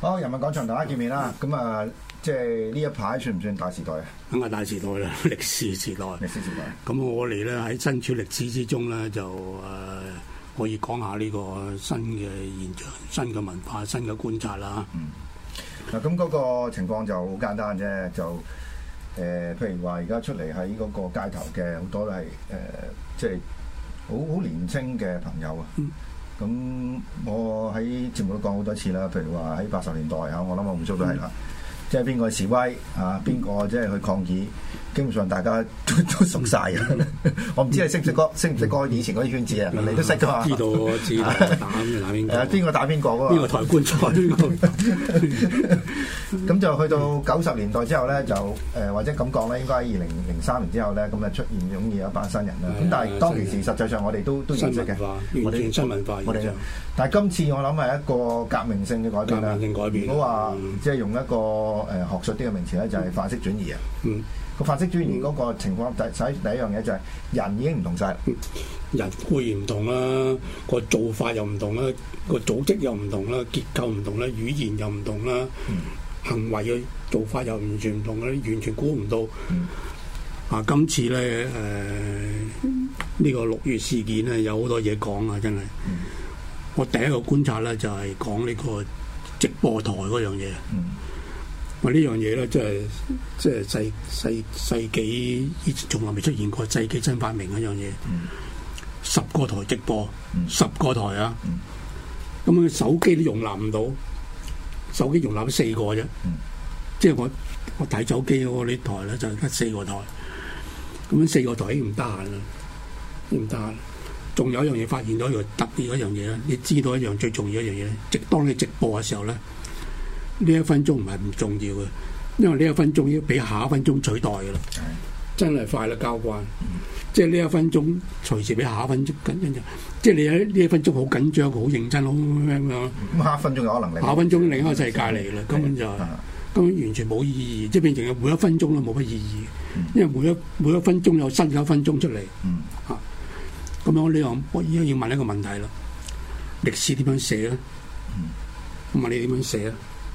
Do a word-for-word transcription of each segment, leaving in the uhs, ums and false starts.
好，人民廣場大家見面啦。咁啊，即係呢一排算唔算大時代啊？ 梗係大時代啦，歷史時代。 歷史時代。咁我哋咧喺身處歷史之中咧，就誒、呃、可以講下呢個新嘅現象、新嘅文化、新嘅觀察啦。 嗯。嗱，咁嗰個情況就好簡單啫，就誒、呃，譬如話而家出嚟喺嗰個街頭嘅好多都係誒，即係好好年青嘅朋友啊。嗯。咁我喺節目都講好多次啦，譬如話喺八十年代嚇，我諗我唔少都係啦，即係邊個示威啊，邊個即係去抗議，基本上大家都都熟晒嘅。我唔知你識唔識嗰識唔識嗰以前嗰啲圈子啊？你都識噶嘛？知道我知道打邊打邊個？誒邊個打邊個嗰個？邊個抬棺材邊個？咁就去到九十年代之後咧，就誒或者咁講咧，應該喺二零零三年之後咧，咁啊出現湧現一班新人啦。咁但係當其時實際上我哋都都認識嘅，我哋新文化。我哋但係今次我諗係一個革命性嘅改變啦。革命性改變。如果話即係用一個誒學術啲嘅名詞咧，就係範式轉移啊。嗯。個範式轉移嗰個情況，第第第一樣嘢就係人已經唔同晒啦。人固然唔同啦，個做法又唔同啦，個組織又唔同啦，結構唔同啦，語言又唔同啦，嗯、行為嘅做法又完全唔同啦，完全估唔到。嗯、啊，今次咧誒呢個六月事件咧有好多嘢講啊，真係。嗯、我第一個觀察咧就係講呢個直播台嗰樣嘢。嗯我呢樣嘢咧，即係即係世世世紀以前從來未出現過，世紀新發明一樣嘢。嗯、十個台直播，嗯、十個台啊！咁樣、嗯、手機都容納唔到，手機容納咗四個啫。嗯、即係我我睇手機嗰啲台咧，就得四個台。咁樣四個台已經唔得閒啦，唔得閒。仲有一樣嘢發現到一個特別一樣嘢咧，你知道一樣最重要一樣嘢咧，直當你直播嘅時候咧。呢一分鐘唔係唔重要嘅，因為呢一分鐘已經俾下一分鐘取代嘅啦，的真係快啦交關。嗯、即係呢一分鐘隨時俾下一分鐘緊張，即係你喺呢一分鐘好緊張、好認真、好咩咁樣。咁下一分鐘有可能嚟，下一分鐘另一個世界嚟啦，根本就係、根本完全冇意義，即係變成每一分鐘都冇乜意義，嗯、因為每一每一分鐘有新嘅一分鐘出嚟。嗯，嚇、啊，咁樣呢樣我而家要問一個問題啦，歷史點樣寫咧？我問你點樣寫啊？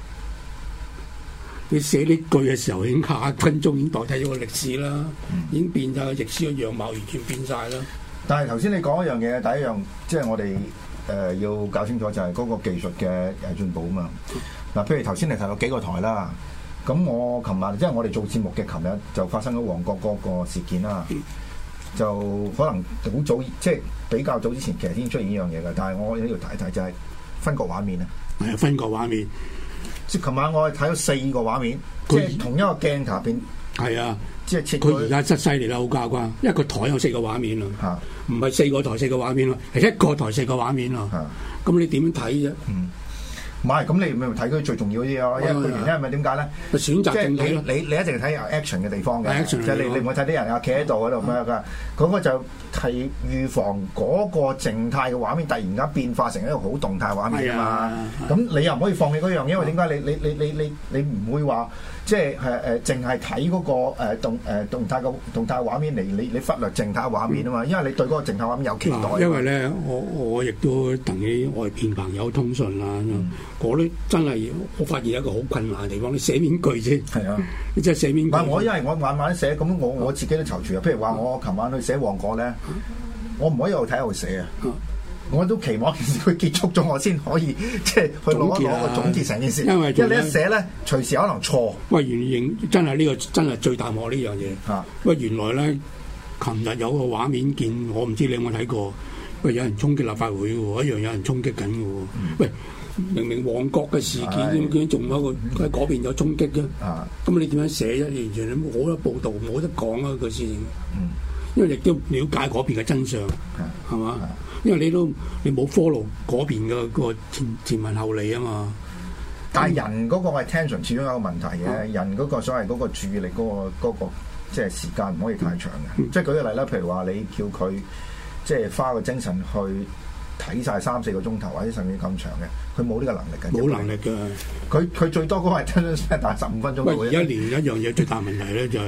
你寫呢句嘅時候，已經下一分鐘已經代替咗個歷史啦，嗯、已經變晒個歷史嘅樣貌，完全變晒啦。但係頭先你講一樣嘢，第一樣即係我哋誒、呃、要搞清楚就係嗰個技術嘅誒進步啊嘛。嗱、嗯，譬如頭先你提到幾個台啦，咁我琴日即係我哋做節目嘅琴日就發生咗旺角嗰個事件啦，嗯、就可能好早即係比較早之前其實先出現呢樣嘢嘅，但係我呢度睇睇就係分割畫面啊，係啊，分割畫面。即係琴晚我係睇咗四個畫面，他即係同一個鏡頭入邊。係啊，即係切佢而家真犀利啦，好交關。因為個台有四個畫面啊，唔係四個台四個畫面咯，係一個台四個畫面咯。咁、啊、你點睇啫？嗯，唔係，咁你咪睇佢最重要嗰啲咯。因為個原因係咪點解咧？選擇正氣咯。你你一定睇有 action 嘅地方嘅，即係你你唔會睇啲人啊企喺度嗰度咩㗎？嗰個就係預防嗰個靜態嘅畫面突然間變化成一個好動態畫面啊嘛。咁你又唔可以放棄嗰樣，因為點解？你你你你你你唔會話即係誒誒，淨係睇嗰個誒動誒動態嘅動態畫面嚟，你你忽略靜態畫面啊嘛。因為你對嗰個靜態畫面有期待。因為咧，我我亦都同啲外邊朋友通訊啦，我都真係我發現一個好困難嘅地方，你寫邊句啫？係啊，你真係寫邊句？唔係我，因為我慢慢寫，咁我我自己都躊躇啊。譬如話我琴晚去寫旺角咧。我唔可以一路睇一路寫啊！我都期望佢結束咗，我先可以即係去攞一攞個總結成件事。因為因為你一寫咧，隨時可能錯。喂，原認真係呢、這個真係最大鑊呢樣嘢。嚇！喂，原來咧，琴日有個畫面見，我唔知你有冇睇過。喂，有人衝擊立法會喎，一樣有人衝擊緊嘅喎。嗯、喂，明明旺角嘅事件，點解仲有個喺嗰邊有衝擊嘅？啊！咁你點樣寫啫？完全冇得報導，冇得講啊！個事情。嗯。因為亦都了解嗰邊嘅真相，係嘛？因為你都你冇 follow 嗰邊嘅個前前文後理啊嘛。但係人嗰個 attention 始終有個問題嘅，嗯、人嗰個所謂嗰個注意力嗰、嗰個嗰、嗰個即係時間唔可以太長嘅。嗯、即係舉個例啦，譬如話你叫佢即係花個精神去睇晒三四個鐘頭，或者甚至咁長嘅，佢冇呢個能力嘅。冇能力嘅，佢佢最多嗰個 attention span 大十五分鐘。喂，而家連一樣嘢最大問題咧就係、是。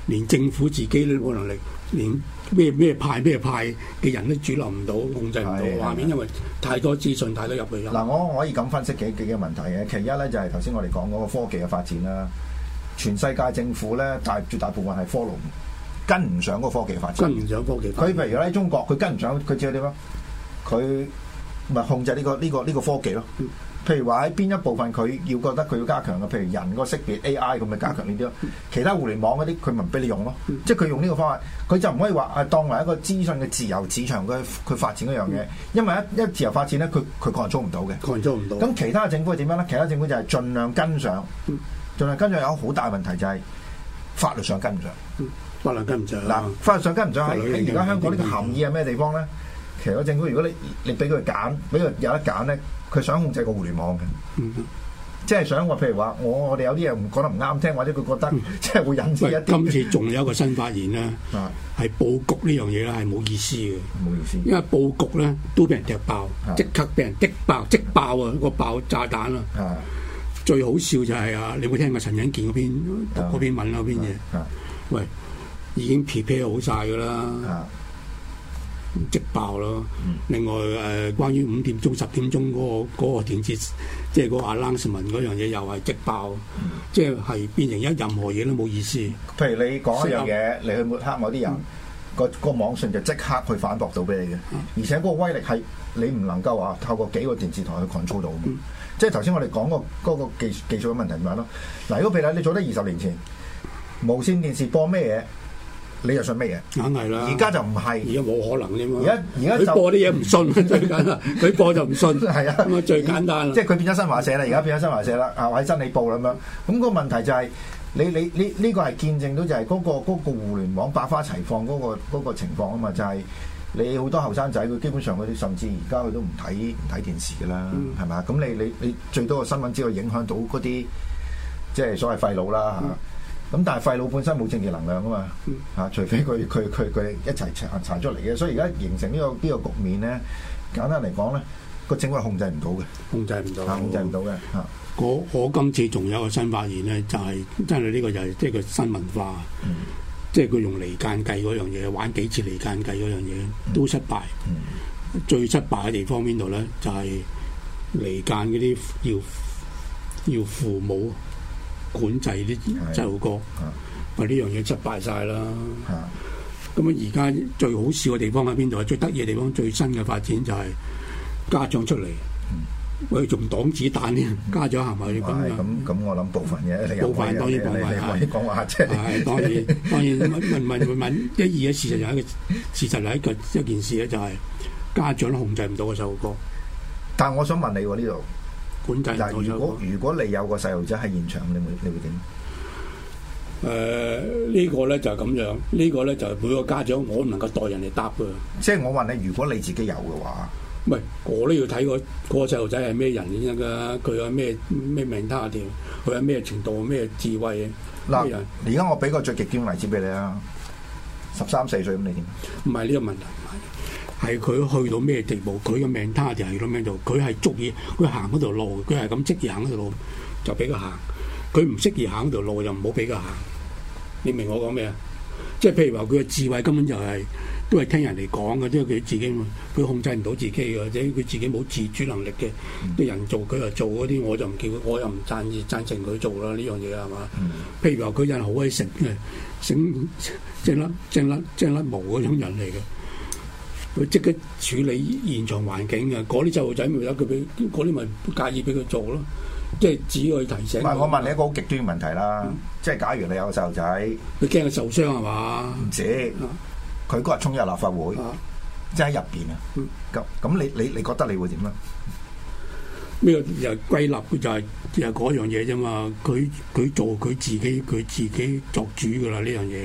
連政府自己都冇能力，連咩咩派咩派嘅人都主流唔到，控制唔到畫面，因為太多資訊太多入去。 嗱，我可以咁分析幾幾個問題嘅。其一咧就係頭先我哋講嗰個科技嘅發展啦，全世界政府咧大絕大部分係 follow 跟唔上嗰個科技發展， 跟唔上科技發展。 佢譬如喺中國，佢跟唔上，佢知道點啊？佢咪控制呢個呢個呢個科技咯。譬如話喺邊一部分佢要覺得佢要加強嘅，譬如人個識別 A I 咁咪加強呢啲咯。其他互聯網嗰啲佢咪唔俾你用咯。即係佢用呢個方法，佢就唔可以話係當為一個資訊嘅自由市場，佢佢發展嗰樣嘢。因為一一自由發展咧，佢佢 control 唔到嘅，control 唔到。咁其他政府係點樣咧？其他政府就係盡量跟上，盡量跟上。有好大問題就係法律上跟唔上， 法律跟唔上。嗱， 法律上跟唔上喺喺而家香港呢個含義係咩地方咧？其實個政府如果你你俾佢揀，俾佢有得揀咧。佢想控制個互聯網嘅，嗯、即係想話，譬如話，我我哋有啲嘢唔講得唔啱聽，或者佢覺得、嗯、即係會引致一啲。 今次仲有一個新發現咧，係佈局呢樣嘢咧係冇意思嘅，冇意思。因為佈局咧都俾人踢爆，即刻俾人擊爆，即爆啊！個爆炸彈啊！最好笑就係、是、啊，你有冇聽過陳欣健嗰篇嗰篇文嗰篇嘢？喂，已經 prepare 好晒㗎啦。即爆咯！嗯、另外誒、呃，關於五點鐘、十點鐘嗰、那個嗰、那個電視，即係嗰個 announcement嗰樣嘢，又係即爆，嗯、即係係變成一任何嘢都冇意思。 譬如你講一樣嘢，你去抹黑某啲人，嗯、個個網信就即刻去反駁到俾你嘅，嗯、而且嗰個威力係你唔能夠話透過幾個電視台去 control 到嘅。嗯、即係頭先我哋講個嗰個技技術嘅問題點樣咯？嗱，如果譬如你做得二十年前，無線電視播咩嘢？你又信乜嘢？梗係啦！而家就唔係，而家冇可能啫嘛。而家而家佢播啲嘢唔信，最簡單。佢播就唔信，係啊，咁啊最簡單。即係佢變咗新華社啦，而家變咗新華社啦，啊或者真理報咁樣。咁個問題就係你你你呢個係見證到就係嗰個嗰個互聯網百花齊放嗰個嗰個情況啊嘛，就係你好多後生仔佢基本上佢甚至而家佢都唔睇唔睇電視㗎啦，係咪？咁你你你最多個新聞只會影響到嗰啲即係所謂廢佬啦嚇。咁但係廢佬本身冇政治能量啊嘛，嚇、嗯，除非佢佢佢佢一齊查查出嚟嘅，所以而家形成呢、這個呢、這個局面咧，簡單嚟講咧，個政府係控制唔到嘅，控制唔到，控制唔到嘅嚇。 我我今次仲有一個新發現咧，就係、是、真係呢個就係即係個新文化，嗯、即係佢用離間計嗰樣嘢，玩幾次離間計嗰樣嘢都失敗。嗯嗯、最失敗嘅地方邊度咧？就係、是、離間嗰啲要要父母管制啲細路哥，話呢樣嘢失敗晒啦。咁啊，而家最好笑嘅地方喺邊度？最得意嘅地方，最新嘅發展就係家長出嚟，喂，仲擋子彈添，家長行埋去咁樣。 咁咁，我諗部分嘅， 部分當然部分係講話啫。 係當然當然問問問問一二嘅事實就係一個事實係一個一件事咧，就係家長都控制唔到個細路哥。 但係我想問你喎，呢度。 管制嗱，如果如果你有個細路仔喺現場，你會你會點？ 誒、呃，呢、這個咧就係咁樣，呢、這個咧就係每個家長我唔能夠代人嚟答㗎。 即係我問你，如果你自己有嘅話， 唔係我都要睇個個細路仔係咩人先得㗎？佢有咩咩命他條，佢有咩程度、咩智慧嗱，而家我俾個最極端例子俾你啦，十三四歲咁，你點？ 唔係呢個問題。係佢去到咩地步？佢嘅命他就係咁樣做。佢係足以，佢行嗰條路，佢係咁適宜行嗰條路，就俾佢行。佢唔適宜行嗰條路，就唔好俾佢行。你明我講咩啊？即係譬如話，佢嘅智慧根本就係、是、都係聽人哋講嘅，即係佢自己，佢控制唔到自己嘅，或者佢自己冇自主能力嘅。啲、嗯、人做佢又做嗰啲，我就唔叫，我又唔贊贊成佢做啦。呢樣嘢係嘛？嗯、譬如話，佢人好鬼醒嘅，醒正甩正甩正甩毛嗰種人嚟嘅。佢即刻處理現場環境嘅，嗰啲細路仔咪有佢俾，嗰啲咪介意俾佢做咯，即係只可以提醒。唔係， 我問你一個好極端嘅問題啦，嗯、即係假如你有個細路仔， 佢驚佢受傷係嘛？ 唔止，佢嗰日衝入立法會，啊、即係喺入邊啊！咁咁、嗯，你你你覺得你會點啊？ 呢個又歸納就係又係嗰樣嘢啫嘛。佢佢做佢自己，佢自己作主㗎啦呢樣嘢。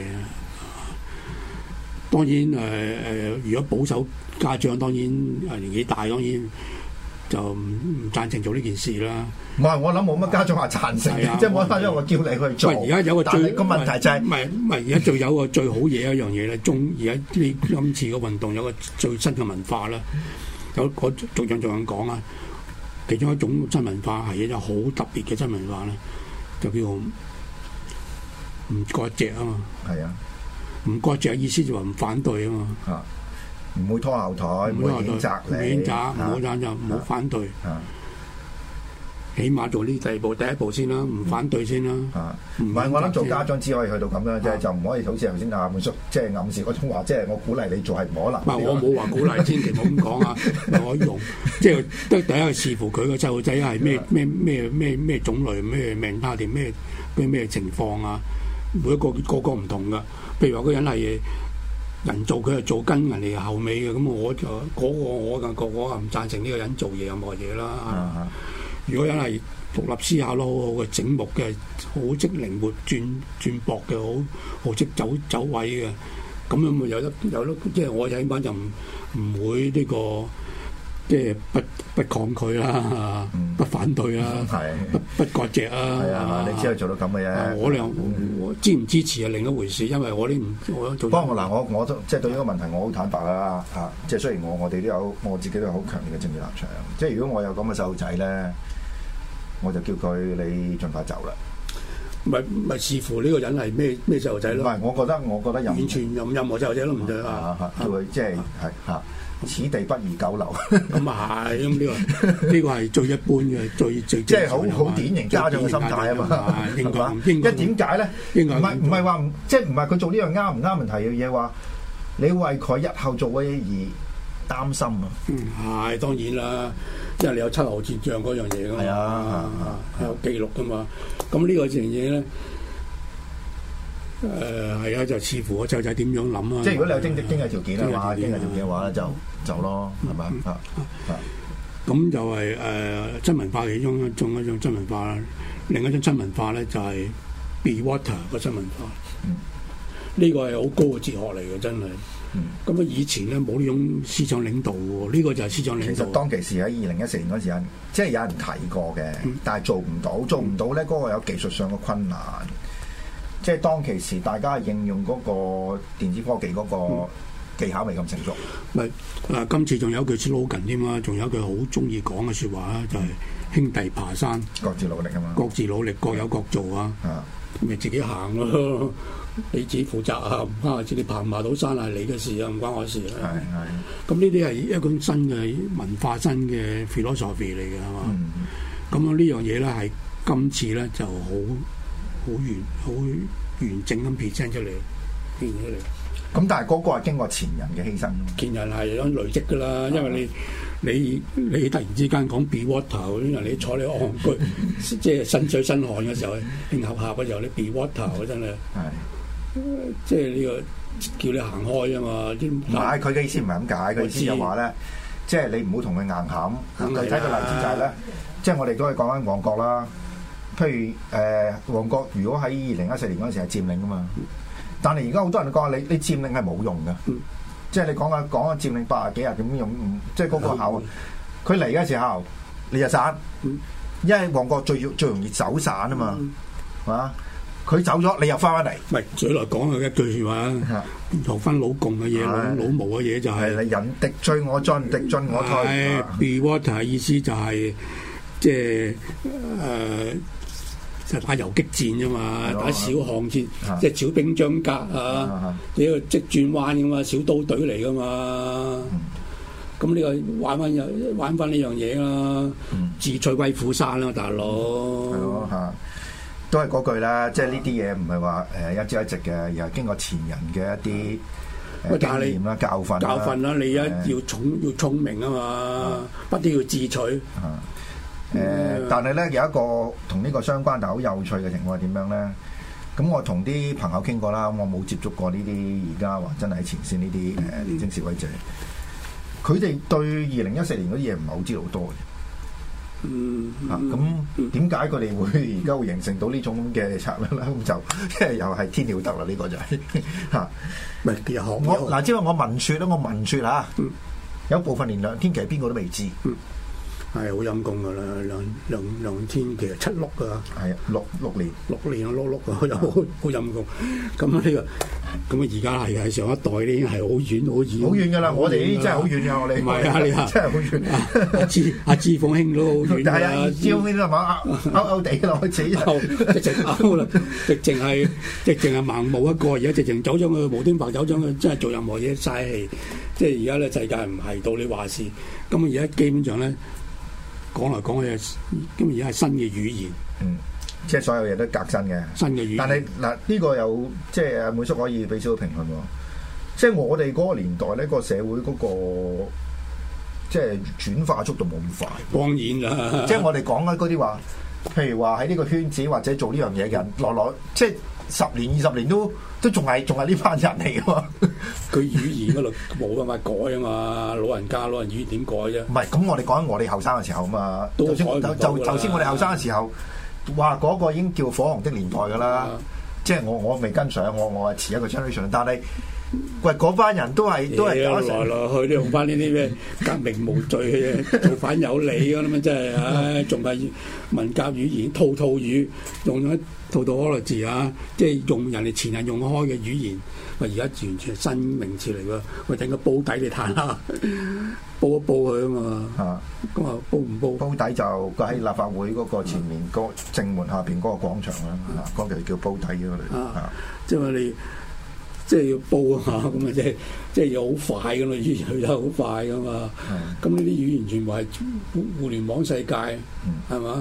當然誒誒、呃，如果保守家長當然誒年紀大，當然就唔唔贊成做呢件事啦。 唔係，我諗冇乜家長話贊成嘅，即係冇家長話叫你去做。 而家有個最個問題就係、是， 唔係唔係而家最有個最好嘢一樣嘢咧。中而家呢今次嘅運動有個最新嘅文化啦，有我逐樣逐樣講啊。其中一種新文化係一種好特別嘅新文化咧，就叫做唔割席啊嘛。 係啊， 唔割席意思就話唔反對啊嘛。 啊，唔會拖後腿，唔會譴責你， 譴責，唔好贊就唔好反對。 啊， 起碼做呢第二步、第一步先啦，唔反對先啦。 啊，唔係我諗做家長只可以去到咁樣啫，就唔可以好似頭先阿滿叔即係暗示嗰種話，即係我鼓勵你做係唔可能。 唔係我冇話鼓勵，千祈唔好咁講啊！我用即係得第一係視乎佢個細路仔係咩咩咩咩咩種類、咩命態定咩咩咩情況啊！每一個個個唔同噶。譬如話嗰人係人做，佢係做跟人哋後尾嘅，咁我就嗰、嗰個我嘅個我唔贊成呢個人做嘢任何嘢啦。啊、如果人係獨立思考得好好嘅、醒目嘅、好識靈活轉轉駁嘅、好好識走走位嘅，咁樣咪有得有得，即係我起碼就唔唔會呢、呢個即係不不抗拒啦，嗯、不反對啦， 嗯、 不不割席啊。 係啊，你只係做到咁嘅啫。 我哋我支唔支持係另一回事，因為我啲唔我做。 不過嗱，我我都即係對呢個問題，我好坦白啦嚇。即係雖然我我哋都有我自己都有好強烈嘅政治立場。即係如果我有咁嘅細路仔咧，我就叫佢你盡快走啦。 咪咪視乎呢個人係咩咩細路仔咯。 唔係，我覺得我覺得任完全任任何細路仔都唔對啊！ 叫佢即係係嚇。此地不宜久留。 咁啊係，咁呢個呢個係最一般嘅，最最即係好好典型家長嘅心態啊嘛。 應該， 因為點解咧？唔係唔係話即係唔係佢做呢樣啱唔啱問題嘅嘢，話你為佢日後做嘅嘢而擔心啊。 嗯，係當然啦，因為你有秋後算賬嗰樣嘢㗎嘛。係啊，有記錄㗎嘛。咁呢個樣嘢咧。誒係啊，就視乎個細路仔點樣諗啊！ 即係如果你有經濟經濟條件啊嘛，經濟條件嘅話咧就就咯，係咪啊？ 咁就係誒真文化其中一種一種真文化啦。另一種真文化咧就係 be water 個真文化。呢個係好高嘅哲學嚟嘅，真係。咁啊，以前咧冇呢種思想領導喎，呢個就係思想領導。其實當其時喺二零一四年嗰時，即係有人提過嘅，但係做唔到，做唔到咧嗰個有技術上嘅困難。即係當其時，大家應用嗰個電子科技嗰個技巧未咁成熟。 咪啊、嗯！今次仲有一句 slogan 添啊，仲有一句好中意講嘅説話啊，就係、是、兄弟爬山， 各自努力啊嘛。各自努力，各有各做啊。咪自己行咯，你自己負責啊！唔關我事，你爬唔爬到山係你嘅事啊，唔關我事啊。係係。咁呢啲係一種新嘅文化、新嘅 philosophy 嚟嘅，係嘛？咁啊、嗯，呢樣嘢咧係今次咧就好。好完好完整咁 present 出嚟，變出嚟。 咁但係嗰個係經過前人嘅犧牲。 前人係有累積㗎啦，因為你你你突然之間講 be water，因為你坐你戇居，即係身水身汗嘅時候，興合合嘅時候，你 be water 真係係，即係呢個叫你行開啊嘛。 唔係佢嘅意思唔係咁解，佢意思就話咧，即係你唔好同佢硬冚。具體嘅例子就係咧，即係我哋都係講緊旺角啦。譬如誒旺角，如果喺二零一四年嗰陣時係佔領㗎嘛，但係而家好多人都講你你佔領係冇用嘅，嗯、即係你講下講下佔領八十幾日點用，即係嗰個口，佢嚟嘅時候你就散，嗯、因為旺角最最容易走散啊嘛，係嘛、嗯？佢走咗，你又翻返嚟。唔係， 嘴來講係一句説話，學翻老共嘅嘢，老老毛嘅嘢就係、是。 係你人敵追我進，敵進我退。 Be water 意思就係即係誒。就打游擊戰啫嘛，打小巷戰，啊、即係小兵張格啊，呢個即轉彎噶嘛，小刀隊嚟噶嘛。咁呢、嗯、個玩翻又玩翻呢樣嘢啦，嗯、自取威虎山啦，大佬。係咯嚇， 都係嗰句啦，即係呢啲嘢唔係話誒一朝一夕嘅，而係經過前人嘅一啲誒經驗啦、教訓啦。 教訓啦，你一要聰要聰明啊嘛，啊不都要自取。啊誒，呃嗯、但係咧有一個同呢個相關但係好有趣嘅情況係點樣咧？咁我同啲朋友傾過啦，我冇接觸過呢啲而家話真係喺前線呢啲誒年輕示威者，佢哋對二零一四年嗰啲嘢唔係好知道好多嘅。嗯，啊，咁點解佢哋會而家會形成到呢種嘅策略咧？咁就即係又係天了得啦，呢、這個就係、是、嚇。唔係其實我嗱，即係我聞説咧，我聞説嚇，嗯、有部分連梁天琦邊個都未知。嗯係好陰功噶啦，梁梁梁天其實七碌噶， 係啊，六六年， 六年啊，碌碌啊，又好好陰功。咁呢個咁啊而家係係上一代咧已經係好遠好遠， 好遠㗎啦！我哋呢啲真係好遠㗎，我哋唔係啊，你啊真係好遠。 阿志阿志鳳兄都好遠係啊， 啊， 志鳳兄都係嘛勾勾地落去死勾直情勾啦，直情係直情係盲目一個，而家直情走咗去無端白走咗去，真係做任何嘢嘥氣。即係而家咧世界唔係到你話事，咁啊而家基本上咧講嚟講去，咁而家係新嘅語言。 嗯。即係所有嘢都革新嘅， 新嘅語言。 但係嗱呢個有即係阿滿叔可以俾少少評論喎。即係我哋嗰個年代咧，個社會嗰個即係轉化速度冇咁快。 當然啦， 即係我哋講緊嗰啲話，譬如話喺呢個圈子或者做呢樣嘢嘅人，來來即係十年二十年都都仲係仲係呢班人嚟㗎嘛。 佢語言嗰度冇辦法改啊嘛，老人家老人語言點改啫？ 唔係，咁我哋講緊我哋後生嘅時候啊嘛。 都就就就就先我哋後生嘅時候。哇！嗰、那個已經叫火紅的年代㗎啦，嗯、即係我我未跟上，我我係遲一個 generation，但係喂嗰班人都係都係搞來來去都用翻呢啲咩革命無罪嘅嘢，造反有理㗎啦嘛，真係唉，仲係文革語言套套語，用咗套套可樂字啊，即係用人哋前人用開嘅語言，喂而家完全係新名詞嚟㗎，喂整個煲底你睇下。煲一煲佢啊嘛，咁啊煲唔煲？ 煲底就佢喺立法會嗰個前面嗰正門下邊嗰個廣場啦，嗰條叫煲底嗰度。啊， 即係你即係要煲啊嘛，咁啊即係即係要好快噶嘛，語言去得好快噶嘛。咁呢啲語言全部係互互聯網世界，係嘛？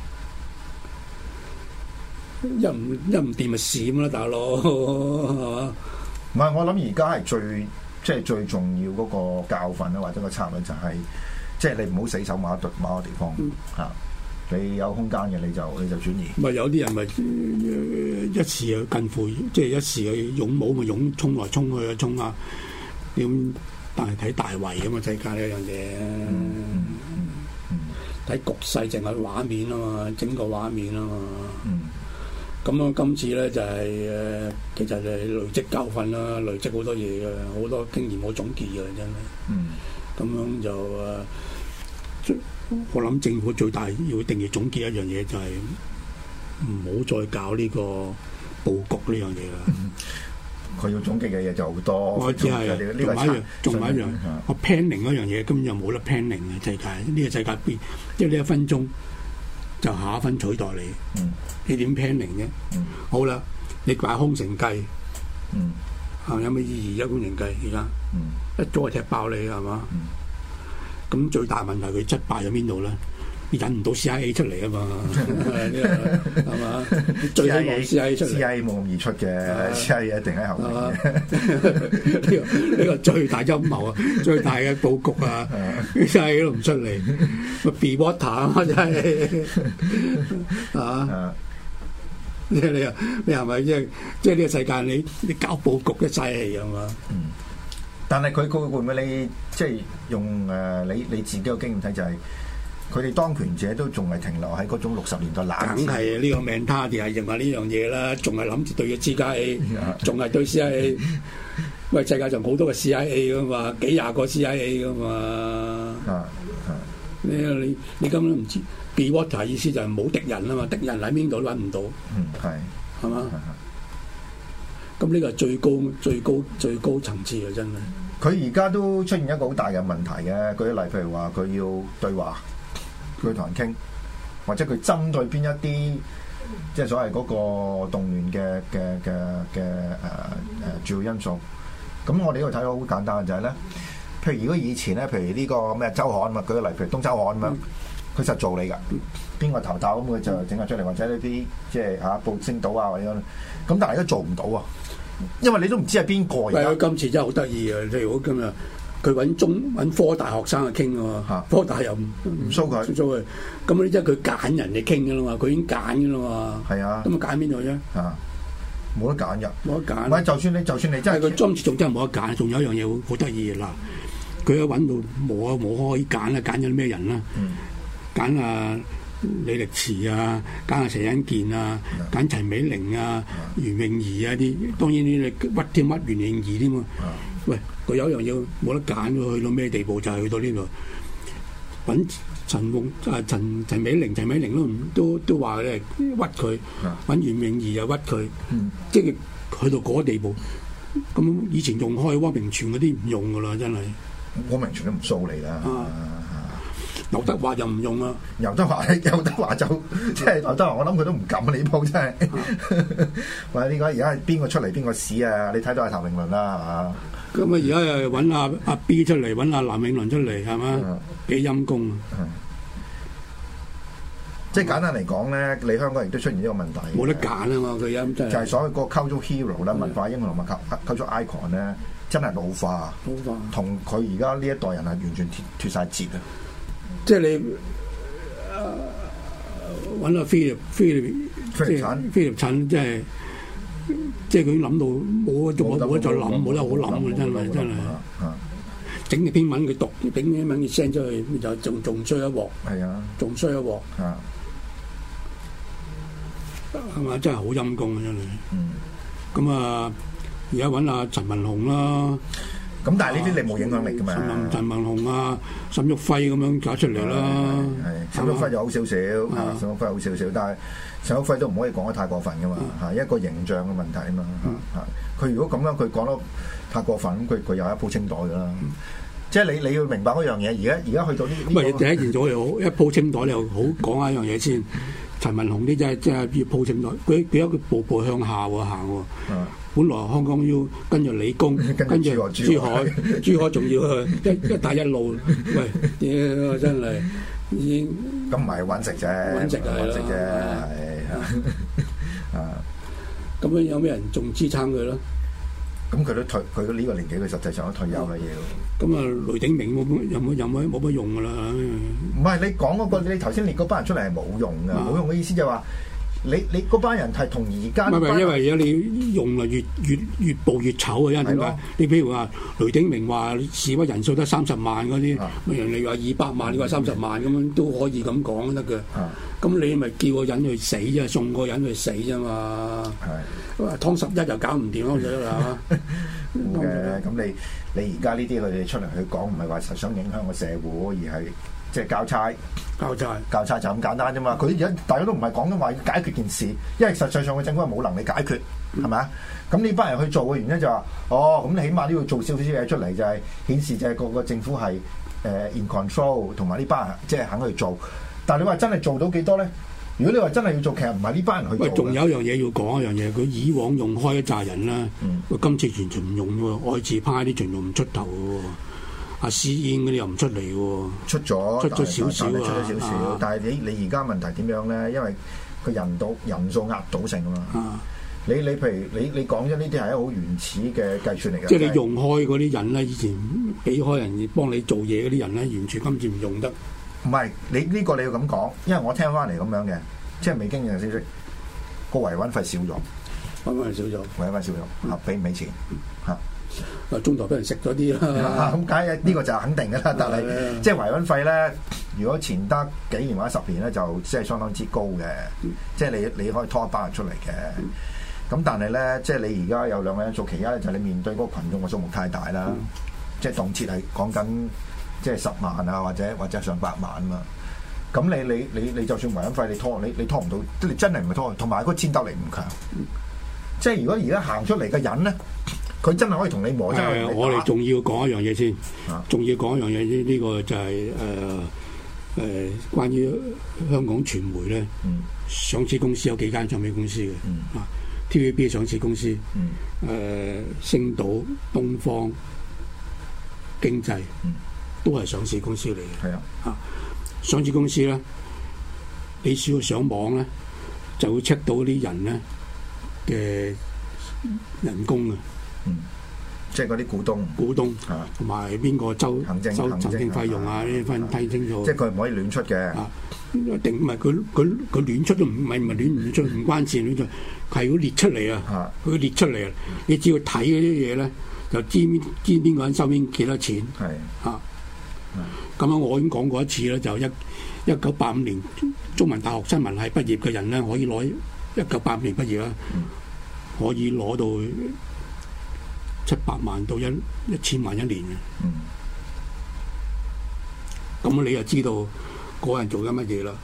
一唔一唔掂咪閃啦，大佬係嘛？ 唔係，我諗而家係最。即係最重要嗰個教訓咧，或者個策略就係、是，即係你唔好死守某一度某一個地方嚇、嗯，你有空間嘅你就你就轉移。 咪有啲人咪一時又近乎，即係一時嘅勇武咪勇衝來衝去啊衝啊！點但係睇大圍咁嘛，世界呢樣嘢，睇、嗯嗯嗯、局勢淨係畫面啊嘛，整個畫面啊嘛。嗯咁啊，今次咧就係、是、誒，其實係累積教訓啦，累積好多嘢嘅，好多經驗好總結嘅，真係。嗯。咁樣就誒，我諗政府最大要一定要總結一樣嘢，就係唔好再搞呢個佈局呢樣嘢啦。 佢、嗯、要總結嘅嘢就好多。我知係。 仲有一樣，仲有一樣，我 planning 嗰樣嘢根本就冇得 planning 嘅世界，呢、這個世界變，即係呢一分鐘。就下一分取代你，嗯、你點 planning 啫？嗯、好啦，你擺空城計，嗯、啊有咩意義啫？空城計而家、嗯、一早就踢爆你係嘛？咁、嗯、最大問題佢失敗喺邊度咧？引唔到 C I A 出嚟啊嘛，係嘛？最希望 C I A 出嚟 ，C I A 冇咁易出嘅 ，C I A 一定喺後面。 呢個呢個最大陰謀啊，最大嘅佈局啊 ，C I A 都唔出嚟，咪 be water 啊嘛，真係啊！你你你係咪即係即係呢個世界你你搞佈局嘅嘥氣啊嘛？ 嗯，但係佢佢會唔會你即係用誒你你自己嘅經驗睇就係？佢哋當權者都仲係停留喺嗰種六十年代冷戰， 梗係呢個命他哋係認為呢樣嘢啦，仲係諗住對嘅 C I A，仲係對 C I A。喂，世界上好多個 C I A 噶嘛，幾廿個 C I A 噶嘛。啊啊！你你你根本都唔知 be water 意思就係冇敵人啊嘛，敵人喺邊度都揾唔到。 嗯，係係嘛？咁呢個係最高最高最高層次嘅真係。 佢而家都出現一個好大嘅問題嘅，舉例譬如話佢要對話。佢同人傾，或者佢針對邊一啲，即係所謂嗰個動亂嘅嘅嘅嘅誒誒主要因素。咁我哋呢度睇到好簡單嘅就係、是、咧，譬如如果以前咧，譬如呢個咩週刊嘛，舉個例，譬如東周刊咁樣，佢實做你㗎，邊個頭頭咁佢就整下出嚟，或者呢啲即係嚇報星島啊或者咁，咁但係而家做唔到啊，因為你都唔知係邊個。 係啊，今次真係好得意啊！例如今日。佢揾中揾科大學生去傾喎，啊、科大又唔唔蘇佢，蘇佢，咁你即係佢揀人嚟傾㗎啦嘛，佢已經揀㗎啦嘛，係啊，咁啊揀邊度啫？啊， 冇得揀㗎，冇得揀。唔係，就算你就算你真係佢今次仲真係冇得揀，仲有一樣嘢好好得意嘅嗱，佢一揾到冇啊冇可以揀啦，揀咗啲咩人啦？揀、嗯、啊李力持啊，揀啊陳欣健啊，揀、嗯、陳美玲啊、嗯、袁詠儀啊啲，當然呢啲屈添屈袁詠儀添喎。喂，佢有一樣嘢冇得揀喎，去到咩地步就係、是、去到呢度揾陳夢啊陳陳美玲，陳美玲都唔都都話咧屈佢，揾袁詠儀又屈佢，嗯、即係去到嗰個地步， 咁以前用開汪明荃嗰啲唔用噶啦，真係。 汪明荃都唔掃你啦。 劉德華就唔用啦。 劉德華，劉德華就即係劉德華，我諗佢都唔敢啊！呢鋪真係。喂，呢個而家係邊個出嚟邊個屎啊？你睇到係譚詠麟啦，係嘛？ 咁啊，而家又揾阿阿 B 出嚟，揾阿藍詠麟出嚟，係嘛？幾陰功啊！ 即係簡單嚟講咧，你香港亦都出現呢個問題。 冇得揀啊嘛，佢音真係。 就係所謂個 cultural hero 啦，文化英雄同埋 cultural icon 咧，真係老化。 老化。同佢而家呢一代人係完全脫脫曬節啊！ 即係你揾阿菲力菲力菲力陳， 菲力陳即係即係佢諗到冇得冇得再諗，冇得好諗嘅真係真係。整嘅英文佢讀，整嘅英文佢 send 出去，就仲仲衰一鑊。 係啊， 仲衰一鑊。啊，係嘛？真係好陰功啊！真係。嗯。咁啊，而家揾阿陳文雄啦。咁但係呢啲你冇影響力㗎嘛？ 陳陳文雄啊，沈旭輝咁樣搞出嚟啦。 係。沈旭輝就好少少，沈旭輝好少少，但係沈旭輝都唔可以講得太過分㗎嘛。嚇，一個形象嘅問題啊嘛。嚇，佢如果咁樣佢講得太過分，咁佢佢又一鋪清袋㗎啦。即係你你要明白嗰樣嘢，而家而家去到呢呢、這個，唔係第一件咗又好一鋪清袋，你又好講下一樣嘢先。陳文雄啲真係真係要鋪清袋，佢佢一個步步向下喎行喎。嗯、本來香港要跟住理工，跟住珠海，珠海仲要去一一帶一路，喂，屌真係已經咁唔係揾食啫， 揾食係揾食啫，係啊。 咁樣有咩人仲支撐佢咯？ 咁佢都退，佢呢個年紀，佢實際上都退休啦要。 咁啊，雷鼎明冇冇有冇有冇冇乜用噶啦？ 唔係你講嗰個，你頭先列嗰班人出嚟係冇用噶，冇用嘅意思就係話，你你嗰班人係同而家唔係因為而家你用啊越越越暴越醜啊！因為點解？你譬如話雷鼎明話示威人數得三十萬嗰啲，人哋話二百萬，你話三十萬咁樣都可以咁講得嘅。咁你咪叫個人去死啫，送個人去死啫嘛。係，湯十一就搞唔掂咯，係嘛？ 冇嘅，咁你你而家呢啲佢哋出嚟去講，唔係話實想影響個社會，而係即係交差。 交差， 交差就咁簡單啫嘛。佢而家大家都唔係講緊話解決件事，因為實際上嘅政府係冇能力解決，係咪啊？咁呢班人去做嘅原因就話，哦，咁你起碼都要做少少嘢出嚟，就係顯示就係個個政府係誒、呃、in control，同埋呢班人即係肯去做。但係你話真係做到幾多咧？如果你話真係要做，其實唔係呢班人去做。喂， 仲有一樣嘢要講一樣嘢，佢以往用開一紮人啦，佢、嗯、今次完全唔用喎，愛字派啲全部唔出頭嘅喎，阿施燕嗰啲又唔出嚟喎。出咗，出咗少少啊， 出咗少少。但係你你而家問題點樣咧？因為佢人到人數壓倒性啊嘛。啊你你譬如你你講咗呢啲係一個好原始嘅計算嚟嘅。 即係你用開嗰啲人咧，以前俾開人幫你做嘢嗰啲人咧，完全今次唔用得。 唔係，你呢、這個你要咁講，因為我聽翻嚟咁樣嘅，即係未經驗嘅消息，個維穩費少咗， 維穩費少咗， 維穩費少咗，嚇俾唔俾錢嚇？ 啊，中途俾人食咗啲啦， 咁梗係呢個就肯定嘅啦。但係的即係維穩費咧，如果前得幾年或者十年咧，就即係相當之高嘅，嗯、即係你你可以拖一班人出嚟嘅。咁、嗯、但係咧，即係你而家有兩個因素，其一咧就係你面對嗰個羣眾嘅數目太大啦，嗯、即係動輒係講緊。即係十萬啊，或者或者上百萬啊嘛。咁你你你你就算維穩費你拖你你拖唔到，即你真係唔係拖。同埋個戰鬥力唔強。嗯、即係如果而家行出嚟嘅人咧，佢真係可以同你磨。 誒，我哋仲要講一樣嘢先，仲、啊、要講一樣嘢。呢、這、呢個就係誒誒關於香港傳媒咧，嗯、上市公司有幾間唱片公司嘅，嗯、啊 T V B 上市公司，誒、嗯呃、星島、東方、經濟。嗯都係上市公司嚟嘅，係啊，啊上市公司咧，你只要上網咧，就會 check 到啲人咧嘅人工啊， 嗯，即係嗰啲股東， 股東啊，同埋邊個周行政周行政費用啊，呢啲分睇清楚。 即係佢唔可以亂出嘅， 啊，定唔係佢佢佢亂出都唔係唔係亂唔出唔關事亂出，係要列出嚟啊，佢列出嚟啊，你只要睇嗰啲嘢咧，就知知邊個人收邊幾多錢，係啊。咁樣我已經講過一次啦，就一一九八五年中文大學新聞系畢業嘅人咧，可以攞一九八五年畢業啦，嗯、可以攞到七百萬到一一千萬一年嘅。咁、嗯、你就知道個人做緊乜嘢啦。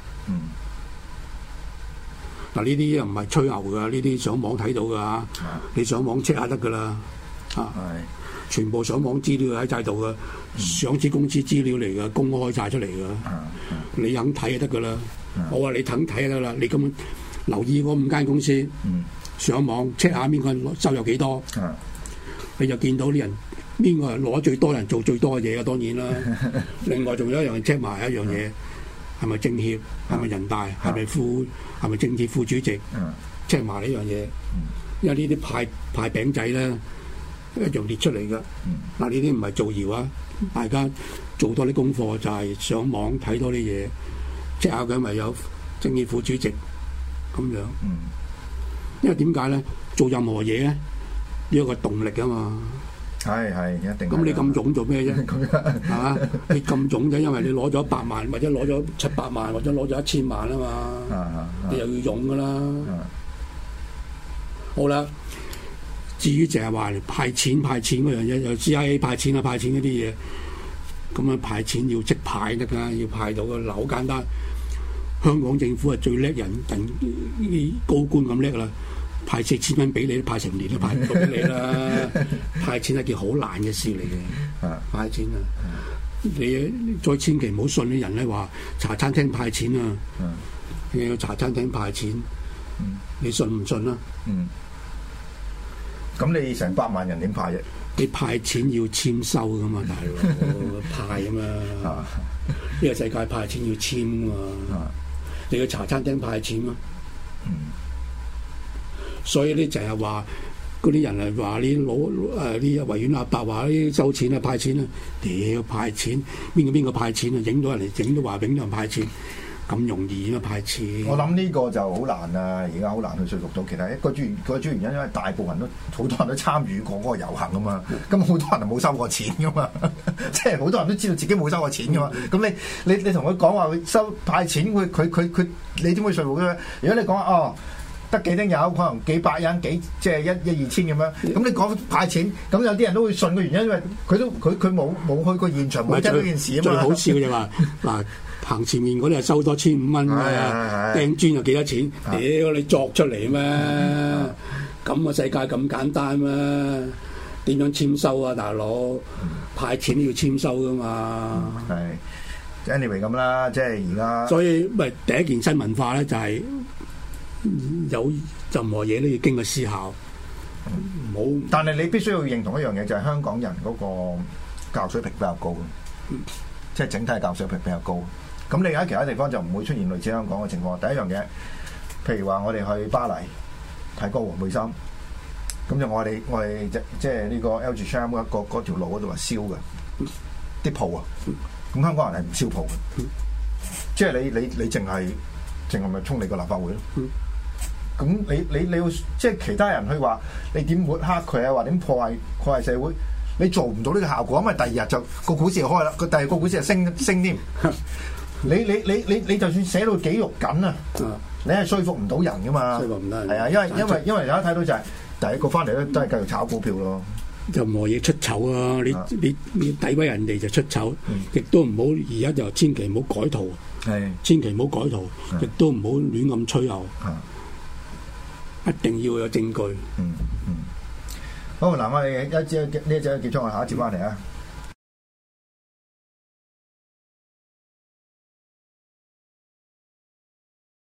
嗱、嗯，呢啲又唔係吹牛噶，呢啲上網睇到噶，嗯、你上網 check 下得噶啦。 啊，全部上網資料喺晒度嘅，上市公司資料嚟嘅，公開晒出嚟嘅，你肯睇就得噶啦。我話你肯睇就得啦，你咁留意嗰五間公司，上網 check 下邊個收入幾多，你就見到啲人邊個係攞最多人做最多嘅嘢啊，當然啦。另外仲有一樣 check 埋一樣嘢，係咪政協，係咪人大，係咪副，係咪政協副主席，check 埋呢樣嘢。因為呢啲派派餅仔咧一樣列出嚟㗎。嗱，呢啲唔係造謠啊，大家做多啲功課，就係上網睇多啲嘢，check下佢咪有政協副主席咁樣。因為點解咧？做任何嘢咧，要有個動力啊嘛。 係係一定。 咁你咁勇做咩啫？係嘛？你咁勇啫，因為你攞咗百萬，或者攞咗七百萬，或者攞咗一千萬啊嘛。你又要勇噶啦。好啦，至於淨係話派錢派錢嗰樣嘢，又 C I A 派錢啊派錢嗰啲嘢，咁啊派錢要即派得㗎，要派到嘅嗱好簡單。香港政府係最叻人，人啲高官咁叻啦，派四千蚊俾你，派成年都派唔到俾你啦。派錢係件好難嘅事嚟嘅，派錢啊！你再千祈唔好信啲人咧話茶餐廳派錢啊，你要茶餐廳派錢，你信唔信啊？ 嗯。咁你成百萬人點派啫？ 你派錢要簽收噶嘛，大佬派啊嘛。呢個世界派錢要簽啊嘛。你去茶餐廳派錢啊。嗯。所以咧就係話嗰啲人係話你攞誒啲維園阿伯話啲收錢啊派錢啊，屌派錢邊個邊個派錢啊？影到人嚟整都話影到人派錢。咁容易啊派錢！ 我諗呢個就好難啊，而家好難去說服到其他一個主原個主原因，因為大部分人都好多人都參與過嗰個遊行啊嘛，咁好多人係冇收過錢噶嘛，即係好多人都知道自己冇收過錢噶嘛，咁你你你同佢講話收派錢，佢佢佢佢，你點會說服佢？如果你講哦得幾丁友，可能幾百人幾即係一一二千咁樣，咁你講派錢，咁有啲人都會信嘅原因，因為佢都佢佢冇冇去過現場，冇聽到件事啊嘛。最好笑嘅就話嗱。行前面嗰啲係收多千五蚊嘅，掟磚又幾多錢？屌你作出嚟咩？咁個世界咁簡單咩？點樣簽收啊，大佬？派錢都要簽收噶嘛？ 係 anyway 咁啦，即係而家。所以咪第一件新文化咧，就係有任何嘢都要經過思考，唔好。 但係你必須要認同一樣嘢，就係香港人嗰個教育水平比較高，即係整體教育水平比較高。咁你喺其他地方就唔會出現類似香港嘅情況。第一樣嘢，譬如話我哋去巴黎睇歌王培森，咁就我哋我哋即即係呢個 L G Sham 一個嗰條路嗰度係燒嘅啲鋪啊，咁香港人係唔燒鋪嘅，即係你你你淨係淨係咪衝你個立法會咯？咁你你你要即係其他人去話你點抹黑佢啊，或點破壞破壞社會，你做唔到呢個效果，因為第二日就個股市就開啦，個第二個股市就升升添。你你你你你就算寫到幾肉緊啊，你係說服唔到人噶嘛？說服唔得。係啊，因為因為因為大家睇到就係、是、第一個翻嚟咧都係繼續炒股票咯。 任何嘢出醜啊！你、啊、你你詆毀人哋就出醜，亦、嗯、都唔好而家就千祈唔好改圖，係千祈唔好改圖，亦都唔好亂咁吹牛，一定要有證據。 嗯嗯。好嗱，我哋一節呢一節結束，我下一節翻嚟啊。